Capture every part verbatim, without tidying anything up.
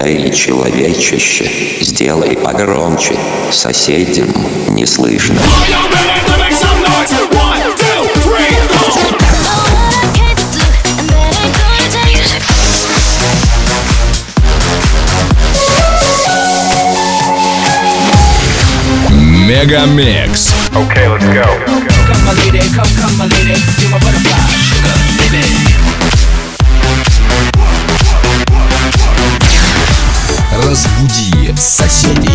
Эй, человечище, сделай погромче, соседям не слышно. Мегамикс. Okay, let's go. Come my lady, come, come my lady, you're my butterfly, sugar, baby. Разбуди соседей.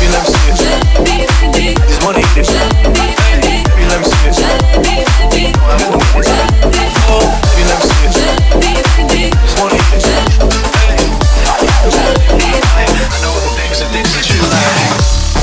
baby, let me see it. Just wanna eat it. Hey, baby, let me see it. Oh, baby, let me see it. Just wanna eat it. Hey, I know the things and things that you like.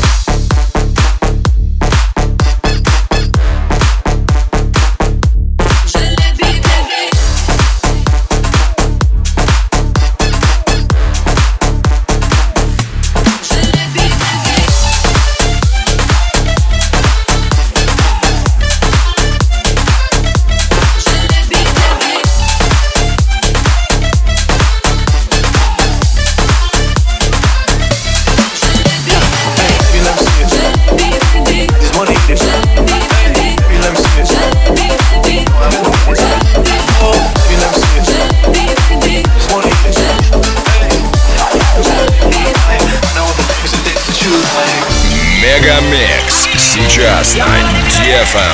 Мегамикс сейчас на ди эф эм.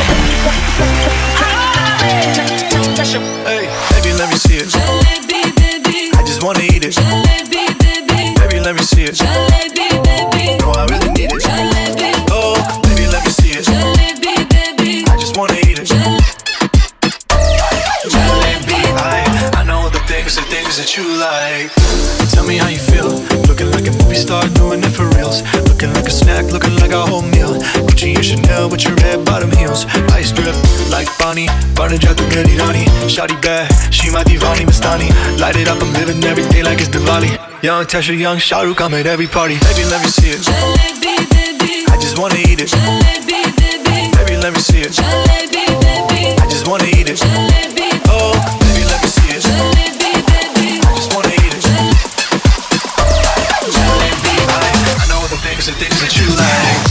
Hey, baby, let me see it. I just wanna eat it. Baby, let me see it. No, I really need it. Oh, baby, let me see it. I just wanna eat it. I, I know the things, the things that you like. Tell me how you feel. Looking like a movie star, doing it for reals. Looking like a snack, looking like a whole meal. Gucci and Chanel with your red bottom heels. Ice drip like Bonnie, Barney Jatu Gedi Rani. Shawty bad, she my divani Mastani. Light it up, I'm living every day like it's Diwali. Young Tasha, young Shah Rukh, I'm at every party. Baby, let me see it. I just wanna eat it. Baby, let me see it. I just wanna eat it. Oh, baby, let me see it. I just wanna eat it. I know the things, the things that you like.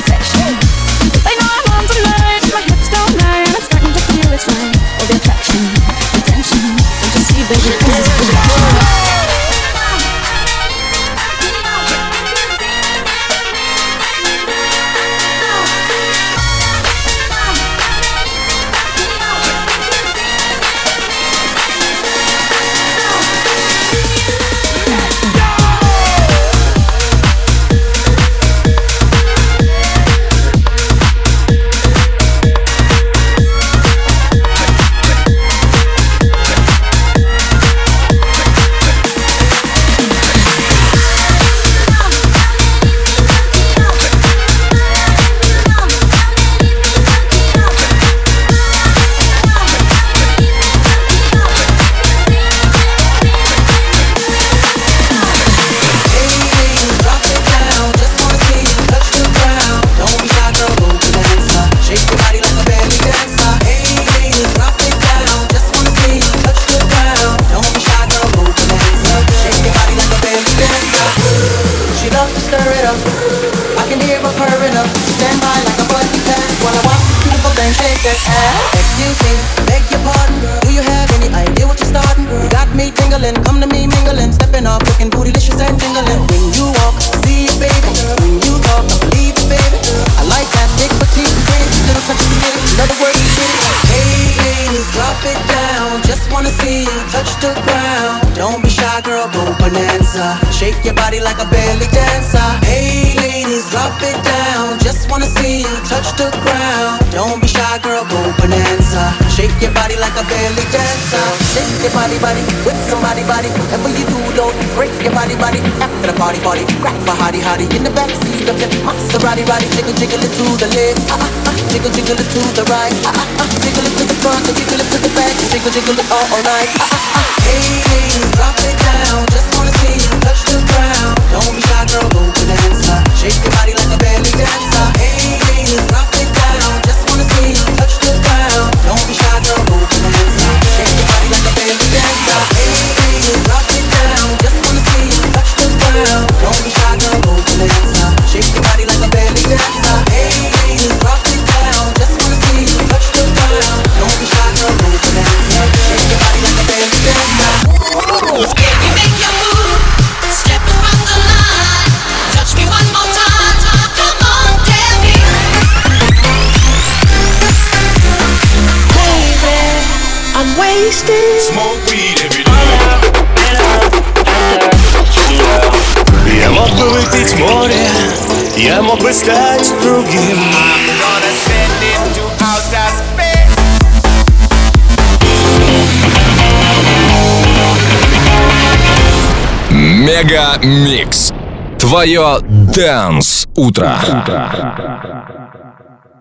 protection. They know I'm on tonight, my hips don't lie, and I'm starting to feel it's right. All the attraction, the tension, don't you see, baby, this is perfection. Excuse me, beg your pardon, girl. Do you have any idea what you're starting, girl? You got me tingling, come to me mingling, stepping off, looking bootylicious and tingling. When you walk, I see it, baby. When you talk, I believe it, baby. I like that big petite pretty little touch of the in other words, you get it. Hey, ladies, drop it down. Just wanna see you touch the ground. Don't be shy, girl, go bonanza. Shake your body like a belly dancer. Hey, ladies, drop it down. Just wanna see you touch the ground. Don't be shy, girl, go bonanza. Shake your body like a belly dancer. Shake your body, body, with somebody, body. Whatever you do, don't break your body, body. After the party, party, grab a hottie, hottie in the backseat of your Maserati, body. Jiggle, jiggle it to the left, ah ah ah. Jiggle, jiggle it to the right, ah ah ah. Jiggle it to the front, and jiggle it to the back, and jiggle, jiggle it all, all night, ah ah ah. Hey, ladies, drop it down. Just wanna see you touch the ground. Don't be shy, girl, go bonanza. Shake your body like a belly dancer. Hey, ladies, drop it down. Just wanna see you touch the ground. Don't be shy, girl, go bonanza. Shake your body like a belly dancer. Hey, ladies, drop it down. Just wanna see you touch the ground. Don't be shy, girl, go bonanza. Shake your body like a belly dancer. Hey, ladies, drop it down. Just wanna see you touch the ground. Don't be shy, girl, go bonanza. Shake your body like a belly dancer. If you make your move, step across the line. Touch me one more time. Come on, tell me. Baby, I'm wasted. Smoke weed every day. Я мог бы выпить море, я мог бы стать другим. Мега Микс. Твое Dance утро.